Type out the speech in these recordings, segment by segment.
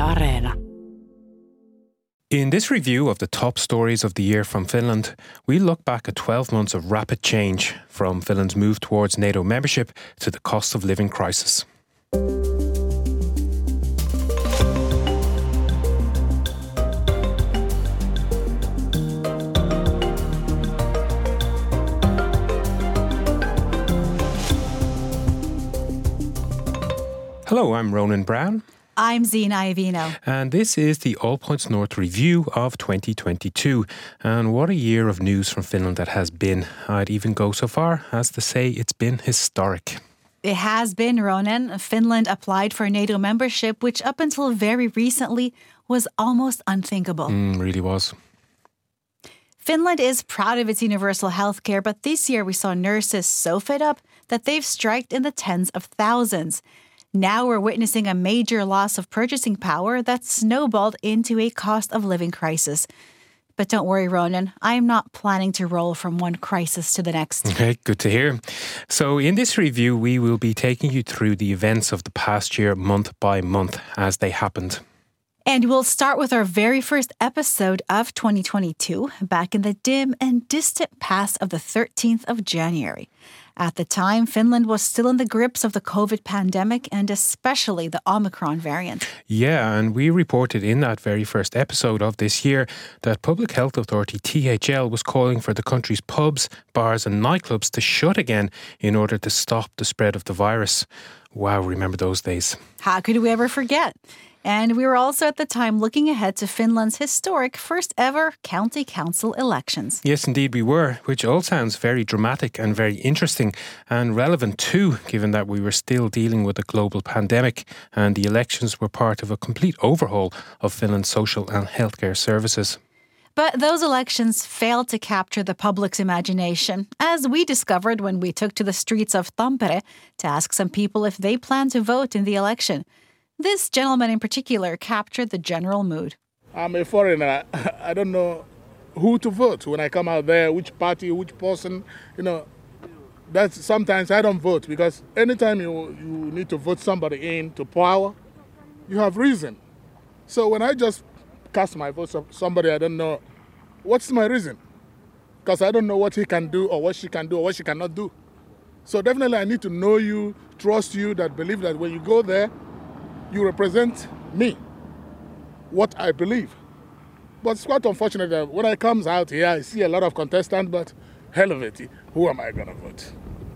Areena. In this review of the top stories of the year from Finland, we look back at 12 months of rapid change, from Finland's move towards NATO membership to the cost of living crisis. Hello, I'm Ronan Brown. I'm Zina Iovino. And this is the All Points North review of 2022. And what a year of news from Finland that has been. I'd even go so far as to say it's been historic. It has been, Ronan. Finland applied for NATO membership, which up until very recently was almost unthinkable. Really was. Finland is proud of its universal health care, but this year we saw nurses so fed up that they've striked in the tens of thousands. Now we're witnessing a major loss of purchasing power that snowballed into a cost of living crisis. But don't worry, Ronan, I'm not planning to roll from one crisis to the next. Okay, good to hear. So in this review, we will be taking you through the events of the past year, month by month, as they happened. And we'll start with our very first episode of 2022, back in the dim and distant past of the 13th of January. At the time, Finland was still in the grips of the COVID pandemic and especially the Omicron variant. Yeah, and we reported in that very first episode of this year that Public Health Authority THL was calling for the country's pubs, bars and nightclubs to shut again in order to stop the spread of the virus. Wow, remember those days. How could we ever forget? And we were also at the time looking ahead to Finland's historic first ever county council elections. Yes, indeed we were, which all sounds very dramatic and very interesting and relevant too, given that we were still dealing with a global pandemic and the elections were part of a complete overhaul of Finland's social and healthcare services. But those elections failed to capture the public's imagination, as we discovered when we took to the streets of Tampere to ask some people if they plan to vote in the election. This gentleman in particular captured the general mood. I'm a foreigner. I don't know who to vote when I come out there, which party, which person. That's sometimes I don't vote because anytime you need to vote somebody into power, you have reason. So when I just cast my vote for somebody I don't know, what's my reason? Because I don't know what he can do or what she can do or what she cannot do. So definitely I need to know you, trust you, that believe that when you go there, you represent me, what I believe. But it's quite unfortunate that when I come out here, I see a lot of contestants, but hell of it, who am I going to vote?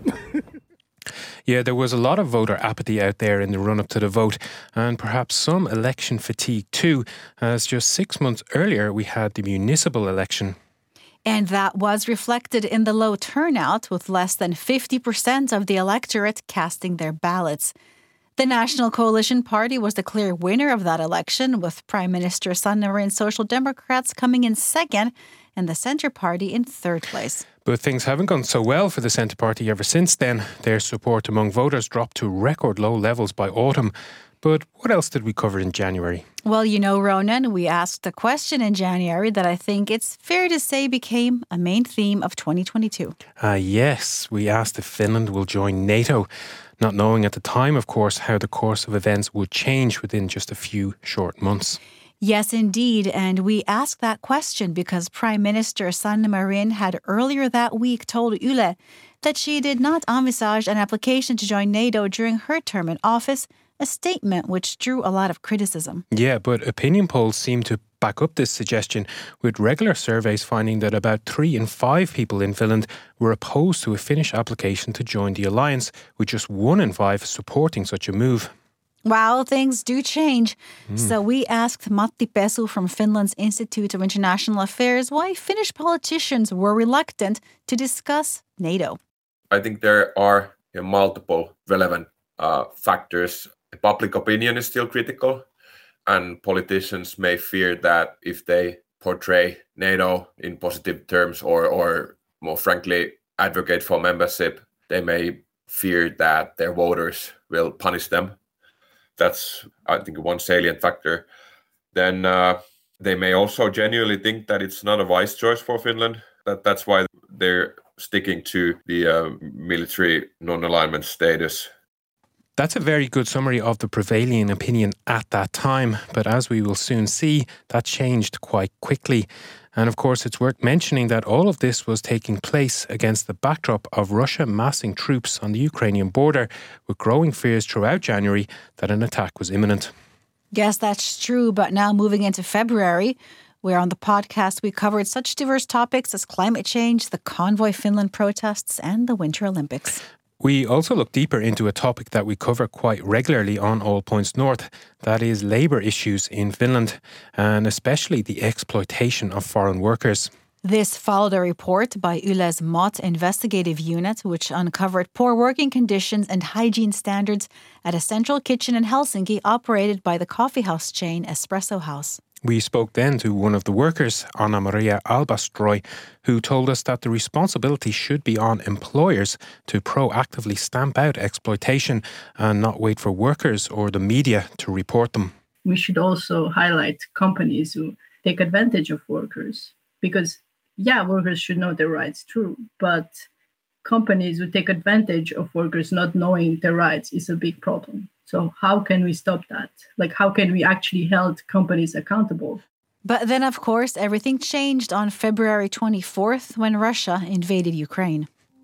Yeah, there was a lot of voter apathy out there in the run-up to the vote, and perhaps some election fatigue too, as just 6 months earlier we had the municipal election. And that was reflected in the low turnout, with less than 50% of the electorate casting their ballots. The National Coalition Party was the clear winner of that election, with Prime Minister Sanna Marin's Social Democrats coming in second and the Centre Party in third place. But things haven't gone so well for the Centre Party ever since then. Their support among voters dropped to record low levels by autumn. But what else did we cover in January? Well, Ronan, we asked a question in January that I think it's fair to say became a main theme of 2022. Yes, we asked if Finland will join NATO, not knowing at the time, of course, how the course of events would change within just a few short months. Yes, indeed. And we asked that question because Prime Minister Sanna Marin had earlier that week told Yle that she did not envisage an application to join NATO during her term in office, a statement which drew a lot of criticism. Yeah, but opinion polls seem to back up this suggestion, with regular surveys finding that about 3 in 5 people in Finland were opposed to a Finnish application to join the alliance, with just 1 in 5 supporting such a move. Wow, things do change. So we asked Matti Pesu from Finland's Institute of International Affairs why Finnish politicians were reluctant to discuss NATO. I think there are multiple relevant factors. Public opinion is still critical, and politicians may fear that if they portray NATO in positive terms or more frankly advocate for membership, they may fear that their voters will punish them. That's, I think, one salient factor. Then they may also genuinely think that it's not a wise choice for Finland. That's why they're sticking to the military non-alignment status. That's a very good summary of the prevailing opinion at that time, but as we will soon see, that changed quite quickly. And of course, it's worth mentioning that all of this was taking place against the backdrop of Russia massing troops on the Ukrainian border, with growing fears throughout January that an attack was imminent. Yes, that's true, but now moving into February, where on the podcast we covered such diverse topics as climate change, the Convoy Finland protests, and the Winter Olympics. We also look deeper into a topic that we cover quite regularly on All Points North, that is labour issues in Finland, and especially the exploitation of foreign workers. This followed a report by Yle's MOT investigative unit, which uncovered poor working conditions and hygiene standards at a central kitchen in Helsinki operated by the coffeehouse chain Espresso House. We spoke then to one of the workers, Anna Maria Albastroy, who told us that the responsibility should be on employers to proactively stamp out exploitation and not wait for workers or the media to report them. We should also highlight companies who take advantage of workers because, workers should know their rights, true, but companies who take advantage of workers not knowing their rights is a big problem. So how can we stop that? How can we actually hold companies accountable? But then, of course, everything changed on February 24th when Russia invaded Ukraine.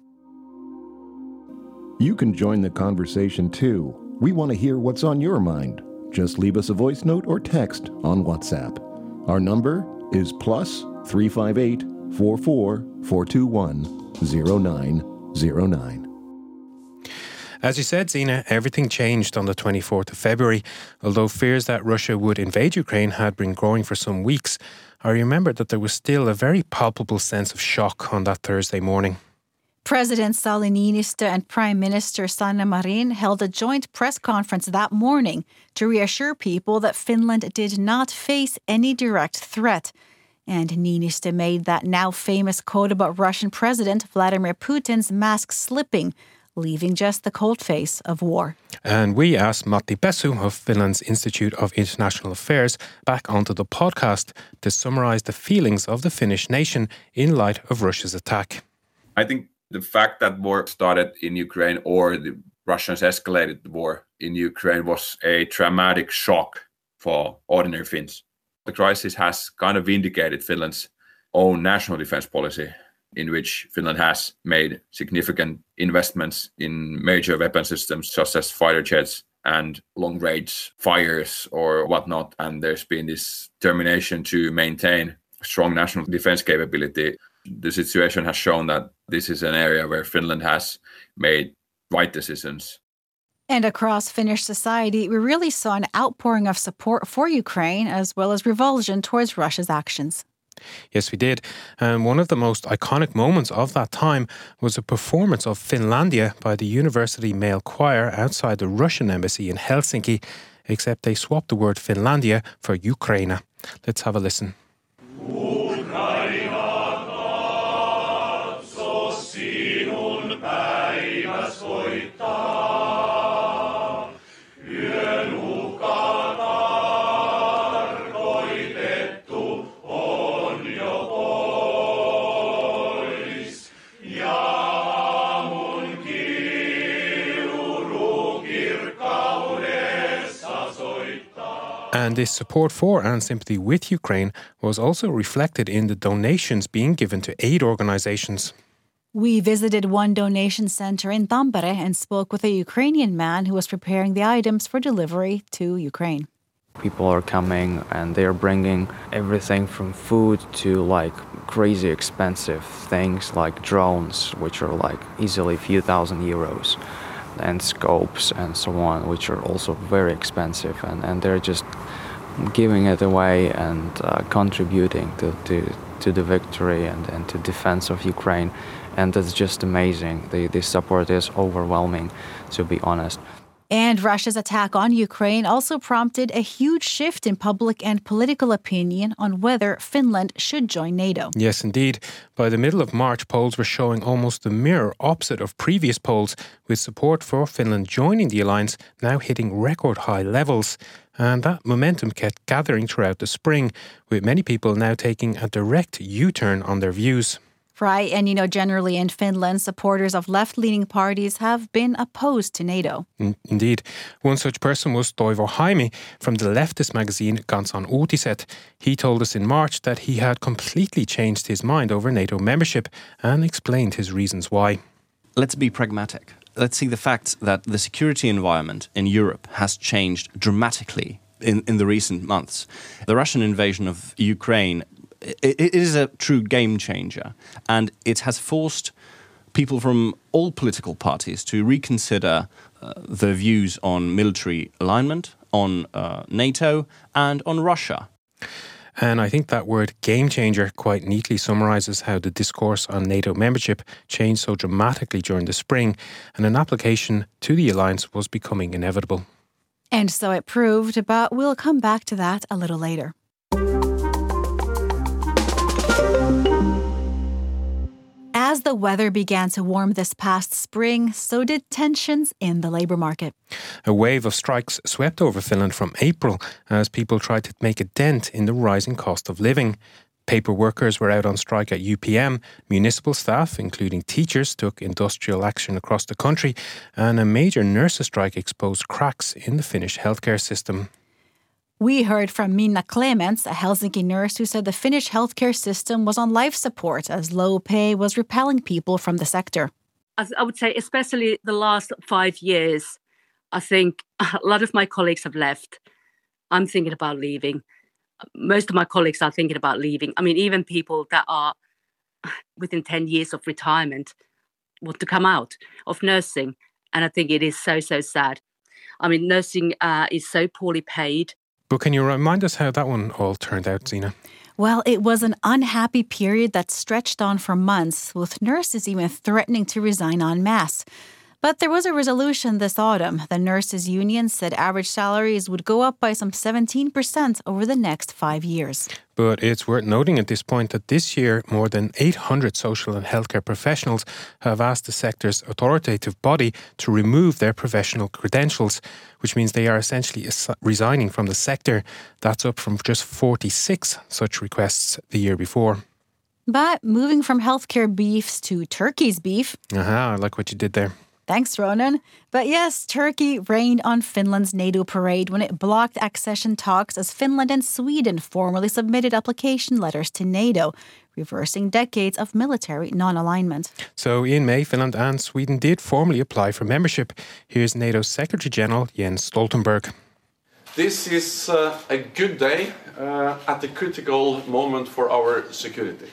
You can join the conversation too. We want to hear what's on your mind. Just leave us a voice note or text on WhatsApp. Our number is +358 44 421 0909. As you said, Zina, everything changed on the 24th of February. Although fears that Russia would invade Ukraine had been growing for some weeks, I remember that there was still a very palpable sense of shock on that Thursday morning. President Sauli Niinistö and Prime Minister Sanna Marin held a joint press conference that morning to reassure people that Finland did not face any direct threat. And Niinistö made that now famous quote about Russian President Vladimir Putin's mask slipping, leaving just the cold face of war. And we asked Matti Pesu of Finland's Institute of International Affairs back onto the podcast to summarise the feelings of the Finnish nation in light of Russia's attack. I think the fact that war started in Ukraine or the Russians escalated the war in Ukraine was a traumatic shock for ordinary Finns. The crisis has kind of vindicated Finland's own national defense policy, in which Finland has made significant investments in major weapon systems such as fighter jets and long-range fires or whatnot. And there's been this determination to maintain strong national defense capability. The situation has shown that this is an area where Finland has made right decisions. And across Finnish society, we really saw an outpouring of support for Ukraine as well as revulsion towards Russia's actions. Yes, we did. And one of the most iconic moments of that time was a performance of Finlandia by the University Male Choir outside the Russian embassy in Helsinki, except they swapped the word Finlandia for Ukraina. Let's have a listen. And this support for and sympathy with Ukraine was also reflected in the donations being given to aid organizations. We visited one donation center in Tampere and spoke with a Ukrainian man who was preparing the items for delivery to Ukraine. People are coming and they are bringing everything from food to crazy expensive things like drones, which are easily a few €1,000, and scopes and so on, which are also very expensive. And they're just giving it away and contributing to the victory and to defense of Ukraine. And that's just amazing. The support is overwhelming, to be honest. And Russia's attack on Ukraine also prompted a huge shift in public and political opinion on whether Finland should join NATO. Yes, indeed. By the middle of March, polls were showing almost the mirror opposite of previous polls, with support for Finland joining the alliance now hitting record high levels. And that momentum kept gathering throughout the spring, with many people now taking a direct U-turn on their views. Right. And, generally in Finland, supporters of left-leaning parties have been opposed to NATO. Indeed. One such person was Toivo Haimi from the leftist magazine Kansan Uutiset. He told us in March that he had completely changed his mind over NATO membership and explained his reasons why. Let's be pragmatic. Let's see the fact that the security environment in Europe has changed dramatically in the recent months. The Russian invasion of Ukraine, it is a true game changer, and it has forced people from all political parties to reconsider their views on military alignment, on NATO, and on Russia. And I think that word game changer quite neatly summarises how the discourse on NATO membership changed so dramatically during the spring, and an application to the alliance was becoming inevitable. And so it proved, but we'll come back to that a little later. As the weather began to warm this past spring, so did tensions in the labour market. A wave of strikes swept over Finland from April as people tried to make a dent in the rising cost of living. Paper workers were out on strike at UPM, municipal staff, including teachers, took industrial action across the country, and a major nurses' strike exposed cracks in the Finnish healthcare system. We heard from Minna Clements, a Helsinki nurse who said the Finnish healthcare system was on life support as low pay was repelling people from the sector. I would say especially the last 5 years, I think a lot of my colleagues have left. I'm thinking about leaving. Most of my colleagues are thinking about leaving. I mean, even people that are within 10 years of retirement want to come out of nursing. And I think it is so, so sad. I mean, nursing is so poorly paid. But can you remind us how that one all turned out, Zina? Well, it was an unhappy period that stretched on for months, with nurses even threatening to resign en masse. But there was a resolution this autumn. The nurses' union said average salaries would go up by some 17% over the next 5 years. But it's worth noting at this point that this year more than 800 social and healthcare professionals have asked the sector's authoritative body to remove their professional credentials, which means they are essentially resigning from the sector. That's up from just 46 such requests the year before. But moving from healthcare beefs to Turkey's beef. Aha, I like what you did there. Thanks, Ronan. But yes, Turkey rained on Finland's NATO parade when it blocked accession talks as Finland and Sweden formally submitted application letters to NATO, reversing decades of military non-alignment. So in May, Finland and Sweden did formally apply for membership. Here's NATO's Secretary-General Jens Stoltenberg. This is a good day at a critical moment for our security.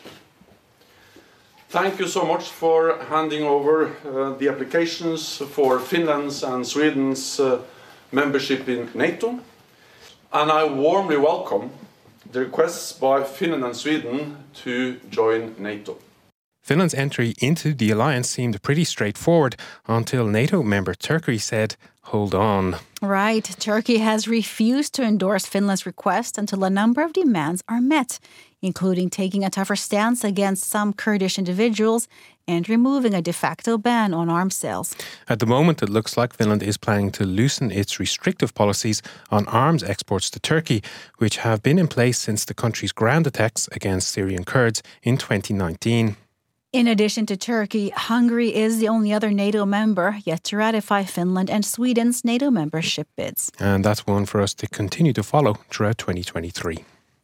Thank you so much for handing over the applications for Finland's and Sweden's membership in NATO. And I warmly welcome the requests by Finland and Sweden to join NATO. Finland's entry into the alliance seemed pretty straightforward until NATO member Turkey said, "Hold on." Right. Turkey has refused to endorse Finland's request until a number of demands are met, including taking a tougher stance against some Kurdish individuals and removing a de facto ban on arms sales. At the moment, it looks like Finland is planning to loosen its restrictive policies on arms exports to Turkey, which have been in place since the country's ground attacks against Syrian Kurds in 2019. In addition to Turkey, Hungary is the only other NATO member yet to ratify Finland and Sweden's NATO membership bids. And that's one for us to continue to follow throughout 2023.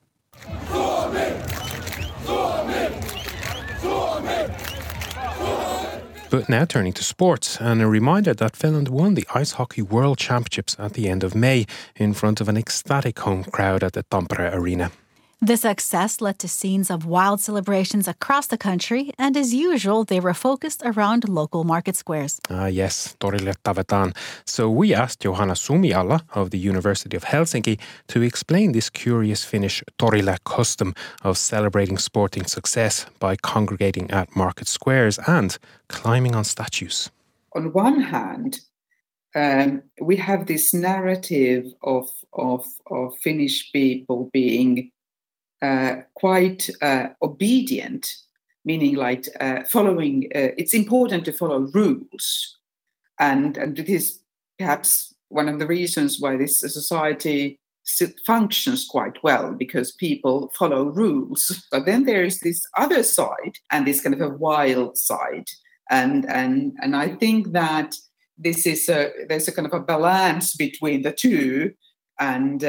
But now turning to sports, and a reminder that Finland won the Ice Hockey World Championships at the end of May in front of an ecstatic home crowd at the Tampere Arena. The success led to scenes of wild celebrations across the country, and as usual, they were focused around local market squares. Yes, torille tavetaan. So we asked Johanna Sumiala of the University of Helsinki to explain this curious Finnish torille custom of celebrating sporting success by congregating at market squares and climbing on statues. On one hand, we have this narrative of Finnish people being quite obedient, meaning like following, it's important to follow rules. And it is perhaps one of the reasons why this society functions quite well because people follow rules. But then there is this other side and this kind of a wild side. And I think that there's a kind of a balance between the two. And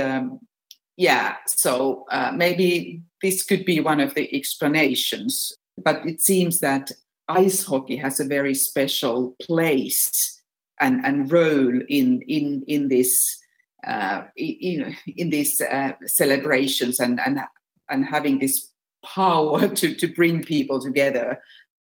so maybe this could be one of the explanations. But it seems that ice hockey has a very special place and role in this in these celebrations and having this power to bring people together.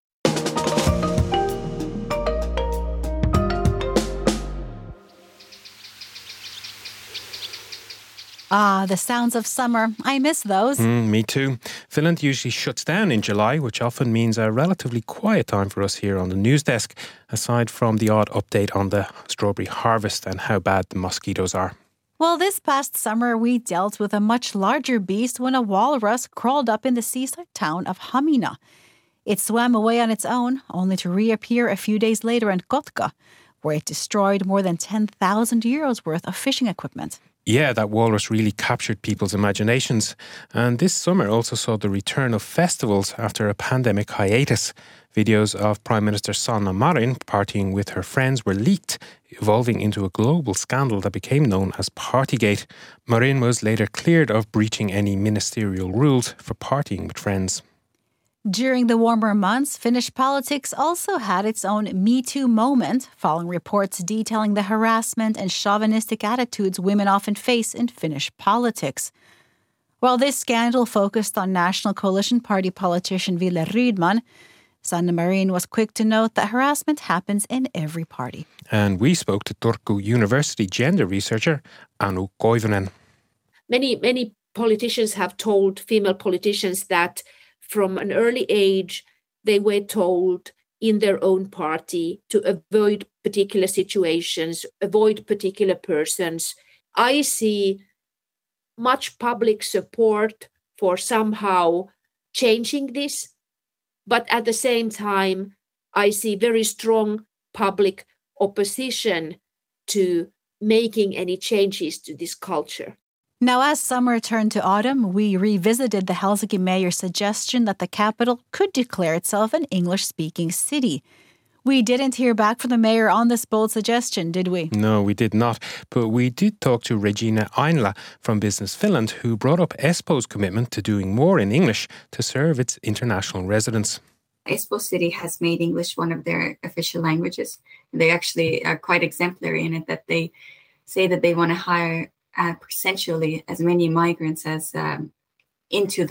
Ah, the sounds of summer. I miss those. Me too. Finland usually shuts down in July, which often means a relatively quiet time for us here on the news desk, aside from the odd update on the strawberry harvest and how bad the mosquitoes are. Well, this past summer, we dealt with a much larger beast when a walrus crawled up in the seaside town of Hamina. It swam away on its own, only to reappear a few days later in Kotka, where it destroyed more than 10,000 euros worth of fishing equipment. Yeah, that walrus really captured people's imaginations. And this summer also saw the return of festivals after a pandemic hiatus. Videos of Prime Minister Sanna Marin partying with her friends were leaked, evolving into a global scandal that became known as Partygate. Marin was later cleared of breaching any ministerial rules for partying with friends. During the warmer months, Finnish politics also had its own Me Too moment, following reports detailing the harassment and chauvinistic attitudes women often face in Finnish politics. While this scandal focused on National Coalition Party politician Ville Rydman, Sanna Marin was quick to note that harassment happens in every party. And we spoke to Turku University gender researcher Anu Koivunen. Many politicians have told female politicians that from an early age, they were told in their own party to avoid particular situations, avoid particular persons. I see much public support for somehow changing this, but at the same time, I see very strong public opposition to making any changes to this culture. Now, as summer turned to autumn, we revisited the Helsinki mayor's suggestion that the capital could declare itself an English-speaking city. We didn't hear back from the mayor on this bold suggestion, did we? No, we did not. But we did talk to Regina Ainla from Business Finland, who brought up Espoo's commitment to doing more in English to serve its international residents. Espoo City has made English one of their official languages. They actually are quite exemplary in it, that they say that they want to hire percentually as many migrants as into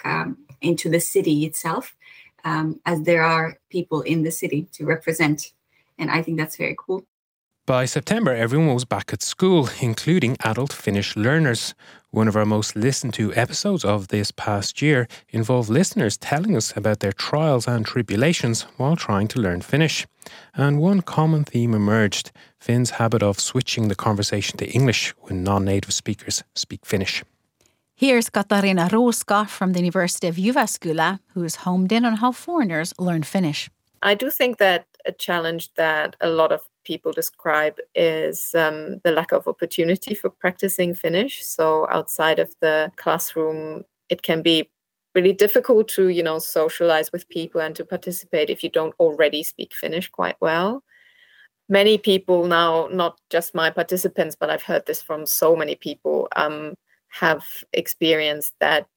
the city itself, as there are people in the city to represent. And I think that's very cool. By September, everyone was back at school, including adult Finnish learners. One of our most listened to episodes of this past year involved listeners telling us about their trials and tribulations while trying to learn Finnish. And one common theme emerged: Finns' habit of switching the conversation to English when non-native speakers speak Finnish. Here's Katarina Ruuska from the University of Jyväskylä, who's homed in on how foreigners learn Finnish. I do think that a challenge that a lot of people describe is the lack of opportunity for practicing Finnish. So outside of the classroom, it can be really difficult to, socialize with people and to participate if you don't already speak Finnish quite well. Many people now, not just my participants, but I've heard this from so many people, have experienced that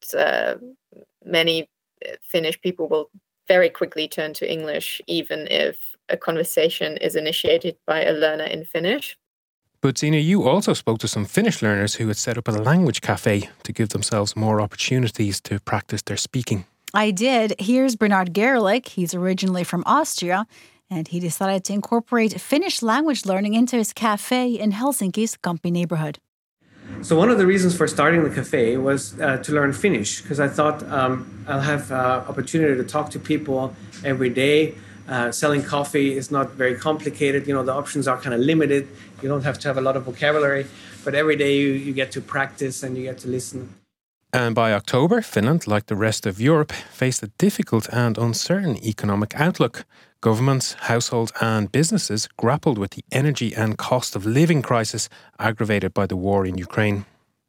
many Finnish people will very quickly turn to English, even if a conversation is initiated by a learner in Finnish. But Zina, you also spoke to some Finnish learners who had set up a language cafe to give themselves more opportunities to practice their speaking. I did. Here's Bernard Gerlich. He's originally from Austria, and he decided to incorporate Finnish language learning into his cafe in Helsinki's Kamppi neighborhood. So one of the reasons for starting the cafe was to learn Finnish, because I thought I'll have opportunity to talk to people every day. Selling coffee is not very complicated. The options are kind of limited. You don't have to have a lot of vocabulary, but every day you get to practice and you get to listen. And by October, Finland, like the rest of Europe, faced a difficult and uncertain economic outlook. Governments, households and businesses grappled with the energy and cost of living crisis aggravated by the war in Ukraine.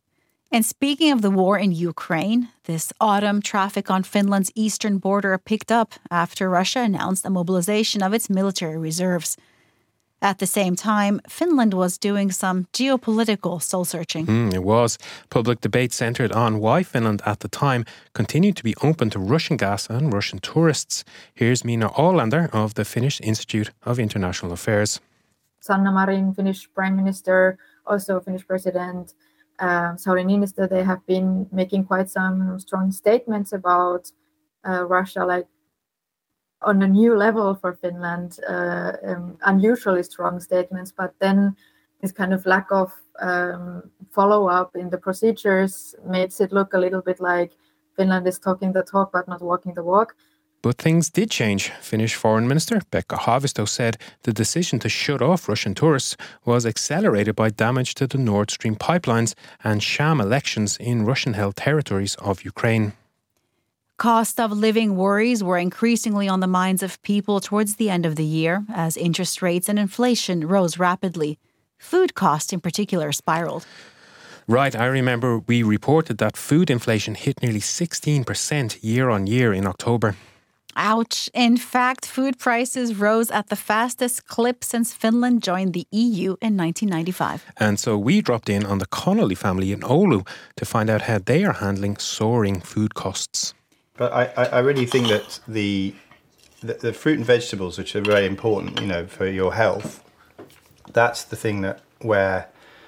And speaking of the war in Ukraine, this autumn traffic on Finland's eastern border picked up after Russia announced a mobilization of its military reserves. At the same time, Finland was doing some geopolitical soul-searching. It was. Public debate centred on why Finland at the time continued to be open to Russian gas and Russian tourists. Here's Minna Ålander of the Finnish Institute of International Affairs. Sanna Marin, Finnish Prime Minister, also Finnish President, Sauli Niinistö, they have been making quite some strong statements about Russia, like on a new level for Finland, unusually strong statements. But then this kind of lack of follow-up in the procedures makes it look a little bit like Finland is talking the talk but not walking the walk. But things did change. Finnish Foreign Minister Pekka Haavisto said the decision to shut off Russian tourists was accelerated by damage to the Nord Stream pipelines and sham elections in Russian-held territories of Ukraine. Cost of living worries were increasingly on the minds of people towards the end of the year as interest rates and inflation rose rapidly. Food costs in particular spiraled. Right, I remember we reported that food inflation hit nearly 16% year on year in October. Ouch. In fact, food prices rose at the fastest clip since Finland joined the EU in 1995. And so we dropped in on the Connolly family in Oulu to find out how they are handling soaring food costs. But I really think that the fruit and vegetables, which are very important, for your health, that's the thing where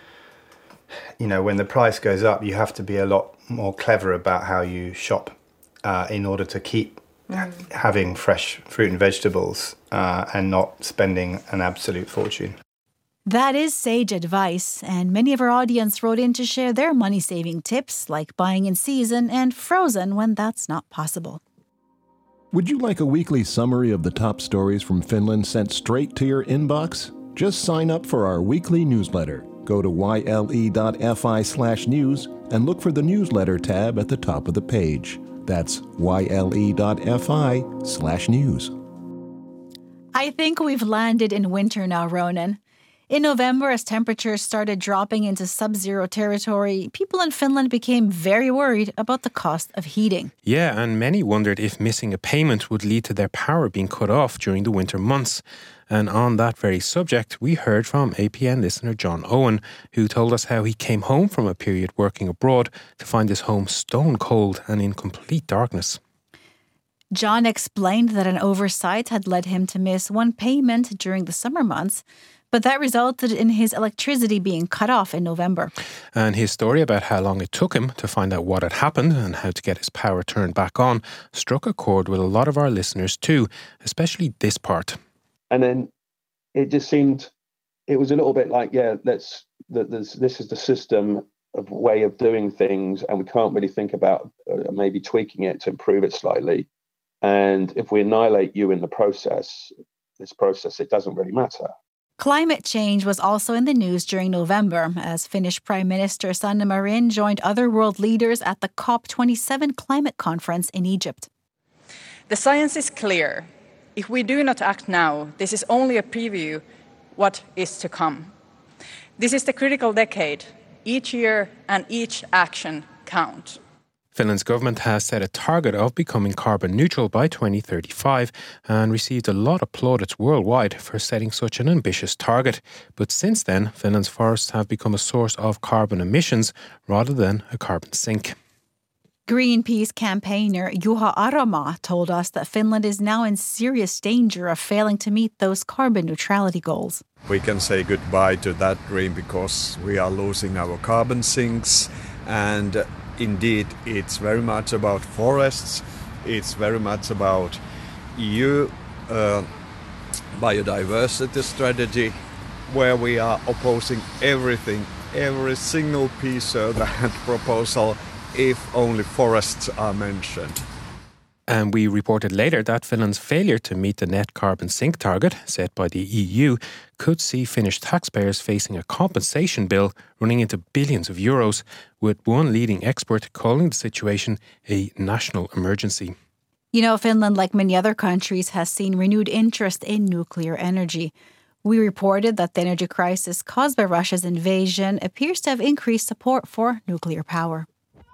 when the price goes up, you have to be a lot more clever about how you shop in order to keep having fresh fruit and vegetables and not spending an absolute fortune. That is sage advice, and many of our audience wrote in to share their money-saving tips, like buying in season and frozen when that's not possible. Would you like a weekly summary of the top stories from Finland sent straight to your inbox? Just sign up for our weekly newsletter. Go to yle.fi/news and look for the newsletter tab at the top of the page. That's yle.fi/news. I think we've landed in winter now, Ronan. In November, as temperatures started dropping into sub-zero territory, people in Finland became very worried about the cost of heating. Yeah, and many wondered if missing a payment would lead to their power being cut off during the winter months. And on that very subject, we heard from APN listener John Owen, who told us how he came home from a period working abroad to find his home stone cold and in complete darkness. John explained that an oversight had led him to miss one payment during the summer months, but that resulted in his electricity being cut off in November. And his story about how long it took him to find out what had happened and how to get his power turned back on struck a chord with a lot of our listeners too, especially this part. And then it just seemed, it was a little bit like, this is the system of way of doing things, and we can't really think about maybe tweaking it to improve it slightly. And if we annihilate you in the process, it doesn't really matter. Climate change was also in the news during November as Finnish Prime Minister Sanna Marin joined other world leaders at the COP27 climate conference in Egypt. The science is clear. If we do not act now, this is only a preview what is to come. This is the critical decade. Each year and each action count. Finland's government has set a target of becoming carbon neutral by 2035 and received a lot of plaudits worldwide for setting such an ambitious target. But since then, Finland's forests have become a source of carbon emissions rather than a carbon sink. Greenpeace campaigner Juha Aromaa told us that Finland is now in serious danger of failing to meet those carbon neutrality goals. We can say goodbye to that dream because we are losing our carbon sinks, and indeed, it's very much about forests. It's very much about EU biodiversity strategy, where we are opposing everything, every single piece of that proposal, if only forests are mentioned. And we reported later that Finland's failure to meet the net carbon sink target set by the EU could see Finnish taxpayers facing a compensation bill running into billions of euros, with one leading expert calling the situation a national emergency. You know, Finland, like many other countries, has seen renewed interest in nuclear energy. We reported that the energy crisis caused by Russia's invasion appears to have increased support for nuclear power.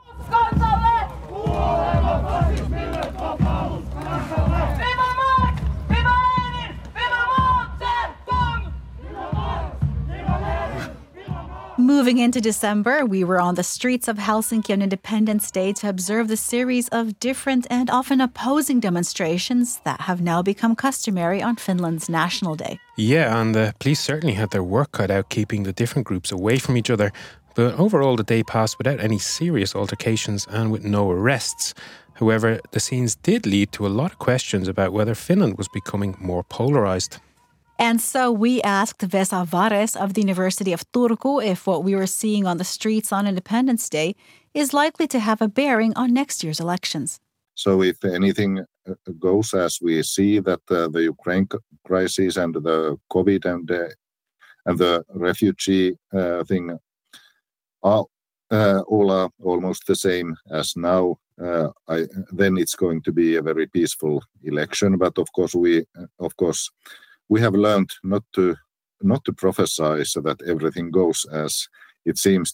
Moving into December, we were on the streets of Helsinki on Independence Day to observe the series of different and often opposing demonstrations that have now become customary on Finland's National Day. Yeah, and the police certainly had their work cut out keeping the different groups away from each other. But overall, the day passed without any serious altercations and with no arrests. However, the scenes did lead to a lot of questions about whether Finland was becoming more polarised. And so we asked Vesa Vares of the University of Turku if what we were seeing on the streets on Independence Day is likely to have a bearing on next year's elections. So if anything goes as we see that the Ukraine crisis and the COVID and the refugee thing are all almost the same as now, then it's going to be a very peaceful election. But of course we have learned not to prophesy so that everything goes as it seems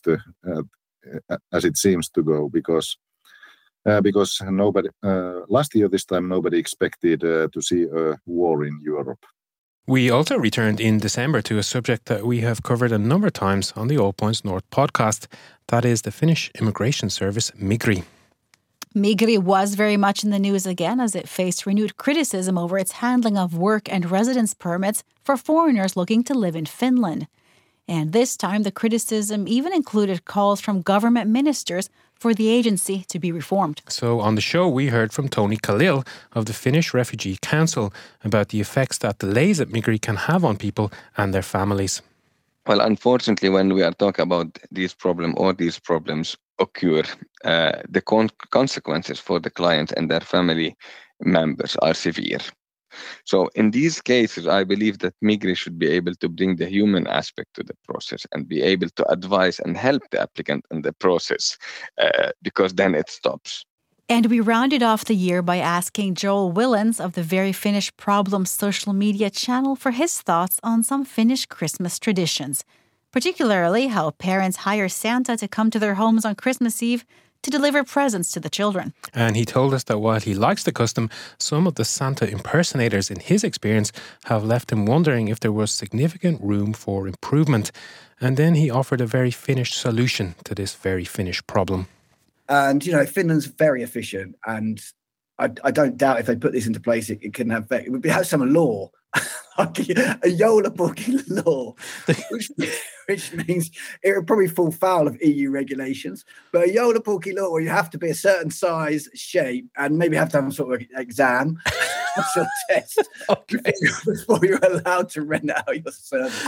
to go, because nobody last year this time nobody expected to see a war in Europe. We also returned in December to a subject that we have covered a number of times on the All Points North podcast. That is the Finnish immigration service Migri. Migri was very much in the news again as it faced renewed criticism over its handling of work and residence permits for foreigners looking to live in Finland. And this time, the criticism even included calls from government ministers for the agency to be reformed. So on the show, we heard from Tony Khalil of the Finnish Refugee Council about the effects that delays at Migri can have on people and their families. Well, unfortunately, when we are talking about these problems occur, the consequences for the client and their family members are severe. So in these cases, I believe that Migri should be able to bring the human aspect to the process and be able to advise and help the applicant in the process, because then it stops. And we rounded off the year by asking Joel Willens of the Very Finnish Problems social media channel for his thoughts on some Finnish Christmas traditions, particularly how parents hire Santa to come to their homes on Christmas Eve to deliver presents to the children. And he told us that while he likes the custom, some of the Santa impersonators in his experience have left him wondering if there was significant room for improvement. And then he offered a very Finnish solution to this very Finnish problem. And, Finland's very efficient, and I don't doubt if they put this into place, it can have effect. It would have some law, like a Joulupukki law, which means it would probably fall foul of EU regulations. But a Joulupukki law where you have to be a certain size, shape, and maybe have to have some sort of exam, sort of test, before you're allowed to rent out your services.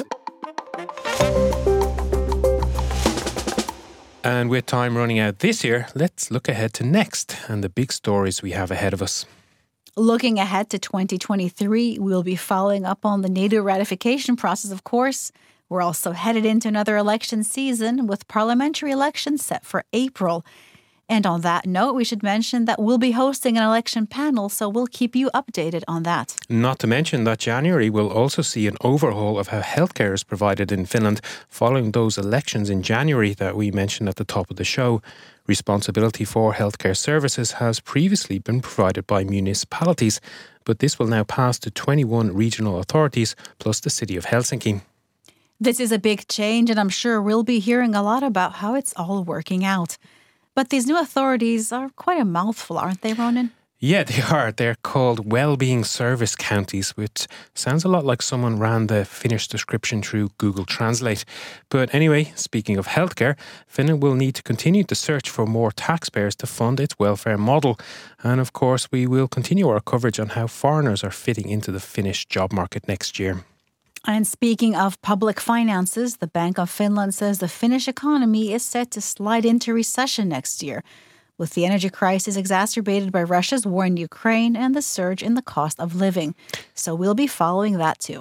And with time running out this year, let's look ahead to next and the big stories we have ahead of us. Looking ahead to 2023, we'll be following up on the NATO ratification process, of course. We're also headed into another election season with parliamentary elections set for April. And on that note, we should mention that we'll be hosting an election panel, so we'll keep you updated on that. Not to mention that January will also see an overhaul of how healthcare is provided in Finland following those elections in January that we mentioned at the top of the show. Responsibility for healthcare services has previously been provided by municipalities, but this will now pass to 21 regional authorities plus the city of Helsinki. This is a big change, and I'm sure we'll be hearing a lot about how it's all working out. But these new authorities are quite a mouthful, aren't they, Ronan? Yeah, they are. They're called Wellbeing Service Counties, which sounds a lot like someone ran the Finnish description through Google Translate. But anyway, speaking of healthcare, Finland will need to continue to search for more taxpayers to fund its welfare model. And of course, we will continue our coverage on how foreigners are fitting into the Finnish job market next year. And speaking of public finances, the Bank of Finland says the Finnish economy is set to slide into recession next year, with the energy crisis exacerbated by Russia's war in Ukraine and the surge in the cost of living. So we'll be following that too.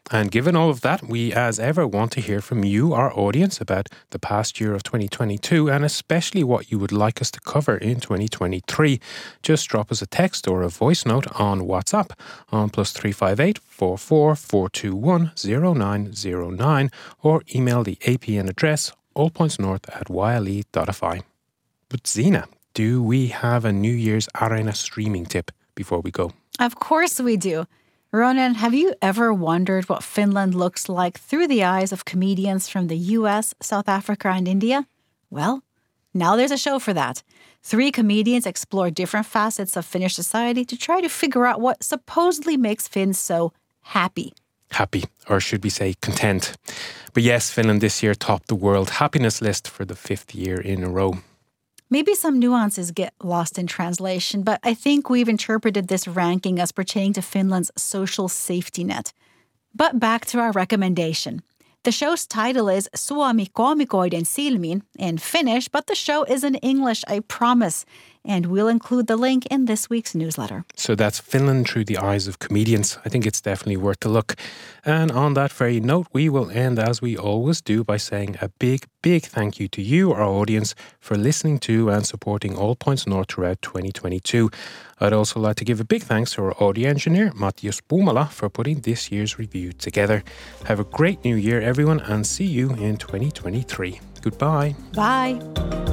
And given all of that, we as ever want to hear from you, our audience, about the past year of 2022 and especially what you would like us to cover in 2023. Just drop us a text or a voice note on WhatsApp on +358 44 421 0909 or email the APN address allpointsnorth@yle.fi. But Zena, do we have a New Year's Arena streaming tip before we go? Of course we do. Ronan, have you ever wondered what Finland looks like through the eyes of comedians from the US, South Africa, and India? Well, now there's a show for that. 3 comedians explore different facets of Finnish society to try to figure out what supposedly makes Finns so happy. Happy, or should we say content. But yes, Finland this year topped the world happiness list for the 5th year in a row. Maybe some nuances get lost in translation, but I think we've interpreted this ranking as pertaining to Finland's social safety net. But back to our recommendation. The show's title is Suomi koomikoiden silmin in Finnish, but the show is in English, I promise. And we'll include the link in this week's newsletter. So that's Finland through the eyes of comedians. I think it's definitely worth a look. And on that very note, we will end as we always do by saying a big, big thank you to you, our audience, for listening to and supporting All Points North throughout 2022. I'd also like to give a big thanks to our audio engineer, Matias Puumala, for putting this year's review together. Have a great new year, everyone, and see you in 2023. Goodbye. Bye.